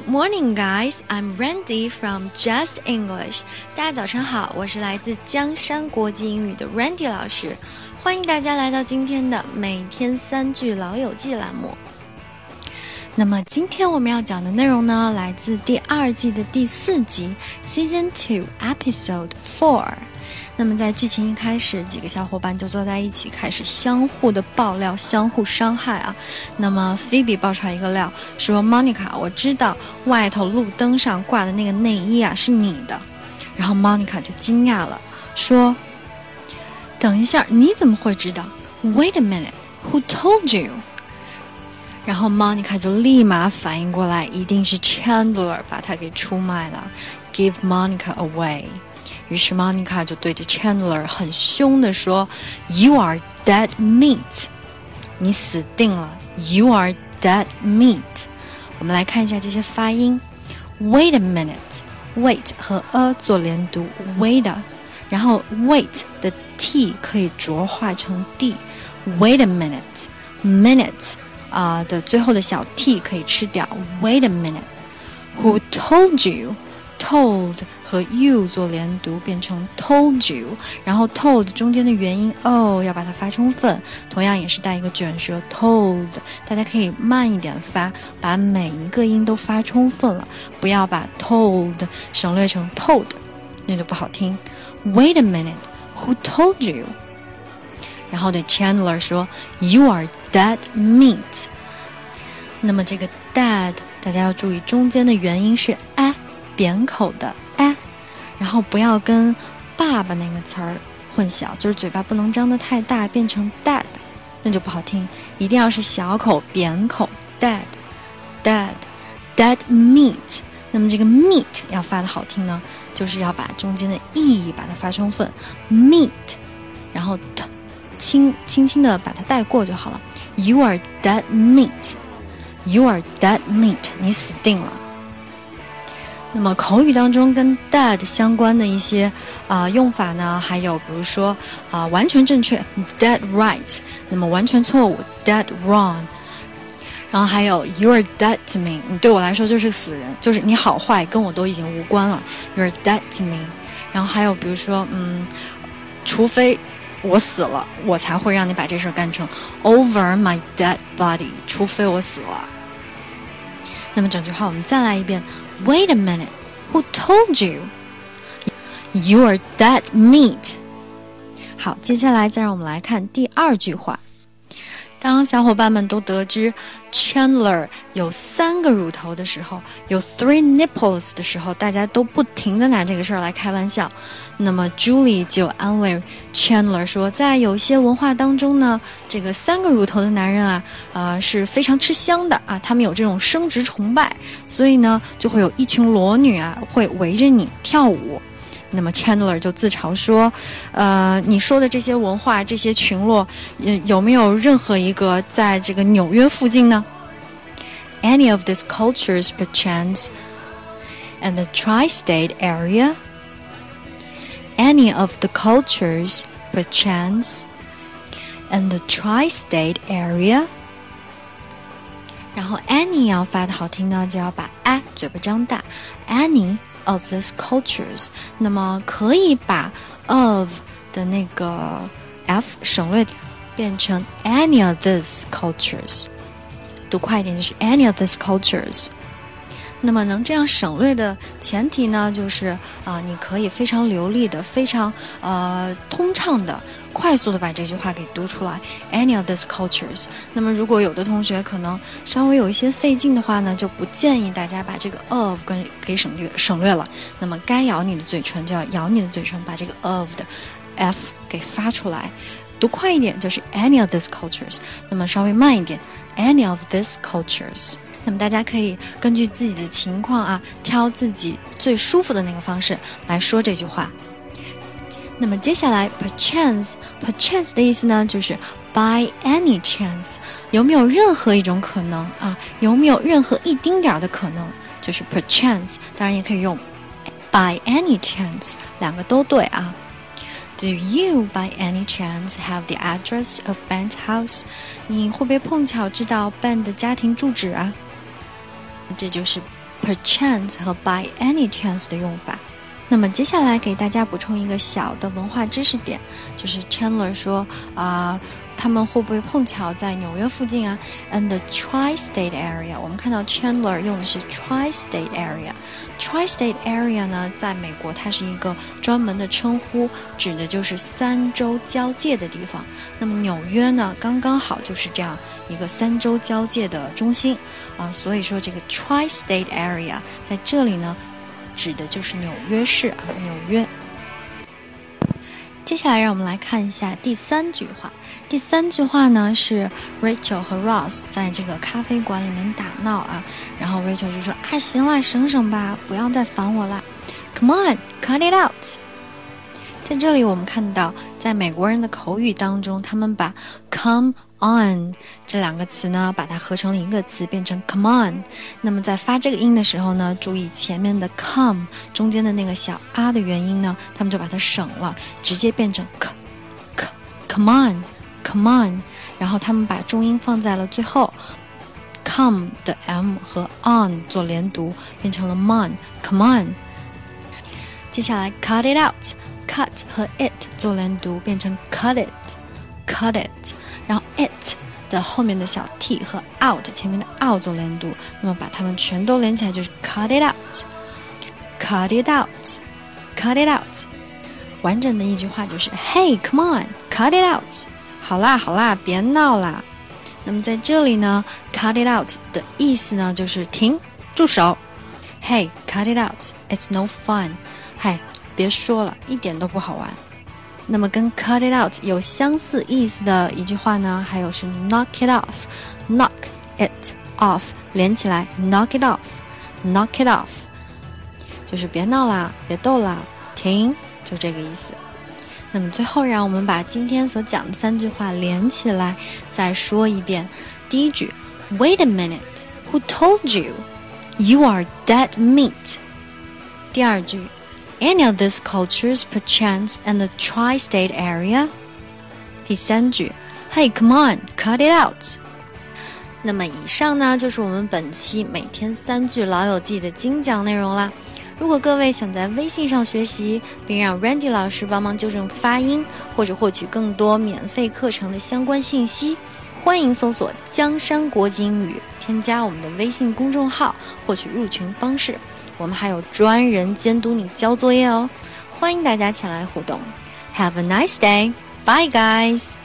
Good morning, guys. I'm Randy from Just English. 大家早上好，我是来自江山国际英语的 Randy 老师，欢迎大家来到今天的每天3句老友记栏目。那么今天我们要讲的内容呢，来自第2季的第4集 Season 2 Episode 4。那么在剧情一开始，几个小伙伴就坐在一起开始相互的爆料，相互伤害啊。那么 Phoebe 爆出来一个料，说 Monica 我知道外头路灯上挂的那个内衣啊是你的。然后 Monica 就惊讶了，说等一下，你怎么会知道？ Wait a minute, who told you? 然后 Monica 就立马反应过来，一定是 Chandler 把她给出卖了， Give Monica away。于是 Monica 就对着 Chandler 很凶地说 You are dead meat， 你死定了， You are dead meat。 我们来看一下这些发音。 Wait a minute， Wait 和 a 做连读 Wait， 然後 Wait 的 t 可以浊化成 d， Wait a minute， Minute的最后的小 t 可以吃掉 Wait a minute。 Who told you， Told 和 you 做连读变成 told you， 然后 told 中间的元音 o 要把它发充分，同样也是带一个卷舌 told， 大家可以慢一点发，把每一个音都发充分了，不要把 told 省略成 told， 那就不好听。 Wait a minute, who told you？ 然后对 Chandler 说 You are dead meat。 那么这个 dead 大家要注意中间的元音是 a，扁口的 a， 然后不要跟爸爸那个词儿混淆，就是嘴巴不能张得太大变成 dad， 那就不好听，一定要是小口扁口 dead meat。 那么这个 meat 要发的好听呢，就是要把中间的 e 把它发充分 meat， 然后 t 轻轻的把它带过就好了。 You are dead meat， You are dead meat， 你死定了。那么口语当中跟 dead 相关的一些用法呢，还有比如说完全正确 dead right， 那么完全错误 dead wrong， 然后还有 you are dead to me， 你对我来说就是死人，就是你好坏跟我都已经无关了 you are dead to me。 然后还有比如说除非我死了，我才会让你把这事干成 over my dead body， 除非我死了。那么整句话我们再来一遍。Wait a minute, who told you? You are dead meat. 好，接下来再让我们来看第2句话。当小伙伴们都得知 Chandler 有3个乳头的时候，有 three nipples 的时候，大家都不停地拿这个事儿来开玩笑。那么 Julie 就安慰 Chandler 说，在有些文化当中呢，这个3个乳头的男人是非常吃香的啊，他们有这种生殖崇拜，所以呢就会有一群裸女会围着你跳舞。那么 Chandler 就自嘲说你说的这些文化这些群落有没有任何一个在这个纽约附近呢？ Any of these cultures perchance and the tri-state area? Any of the cultures perchance and the tri-state area? 然后 any 要发的好听呢，就要把 a 嘴巴张大 Any of these cultures， 那么可以把 of 的那个 f 省略变成 any of these cultures， 读快一点就是 any of these cultures。 那么能这样省略的前提呢，就是你可以非常流利的非常通畅的快速的把这句话给读出来 any of these cultures。 那么如果有的同学可能稍微有一些费劲的话呢，就不建议大家把这个 of 给省略了，那么该咬你的嘴唇就要咬你的嘴唇，把这个 of 的 f 给发出来，读快一点就是 any of these cultures， 那么稍微慢一点 any of these cultures。那么大家可以根据自己的情况挑自己最舒服的那个方式来说这句话。那么接下来 perchance 的意思呢，就是 by any chance， 有没有任何一种可能有没有任何一丁点的可能，就是 perchance， 当然也可以用 by any chance， 两个都对Do you by any chance have the address of Ben's house？ 你会不会碰巧知道 Ben 的家庭住址这就是 perchance 和 by any chance 的用法。那么接下来给大家补充一个小的文化知识点，就是 Chandler 说他们会不会碰巧在纽约附近啊 ？And the tri-state area， 我们看到 Chandler 用的是 tri-state area。tri-state area 呢，在美国它是一个专门的称呼，指的就是3州交界的地方。那么纽约呢，刚刚好就是这样一个3州交界的中心所以说这个 tri-state area 在这里呢，指的就是纽约市纽约。接下来让我们来看一下第3句话。第3句话呢是 Rachel 和 Ross 在这个咖啡馆里面打闹然后 Rachel 就说行了，省省吧，不要再烦我了 Come on, cut it out。 在这里我们看到在美国人的口语当中，他们把 come on 这2个词呢把它合成了一个词，变成 come on。 那么在发这个音的时候呢，注意前面的 come 中间的那个小的元音呢，他们就把它省了，直接变成 come on。然后他们把重音放在了最后， come 的 m 和 on 做连读，变成了 come on。 接下来 cut it out， cut 和 it 做连读，变成 cut it。 然后 it 的后面的小 t 和 out 前面的 out 做连读，那么把它们全都连起来就是 cut it out。 完整的一句话就是 Hey, come on, cut it out。 好啦，别闹啦。那么在这里呢 cut it out 的意思呢就是停，住手。 Hey, cut it out, it's no fun。 别说了，一点都不好玩。那么跟 cut it out 有相似意思的一句话呢，还有是 knock it off。 knock it off 连起来 knock it off， 就是别闹啦，别逗啦，停，就这个意思。那么最后让我们把今天所讲的3句话连起来再说一遍。第一句 Wait a minute, who told you? You are dead meat。 第二句 Any of these cultures perchance in the tri-state area。 第3句 Hey, come on, cut it out。 那么以上呢就是我们本期每天3句老友记的精讲内容啦。如果各位想在微信上学习，并让 Randy 老师帮忙纠正发音，或者获取更多免费课程的相关信息，欢迎搜索江山国际英语，添加我们的微信公众号，获取入群方式。我们还有专人监督你交作业哦，欢迎大家前来互动。Have a nice day. Bye guys.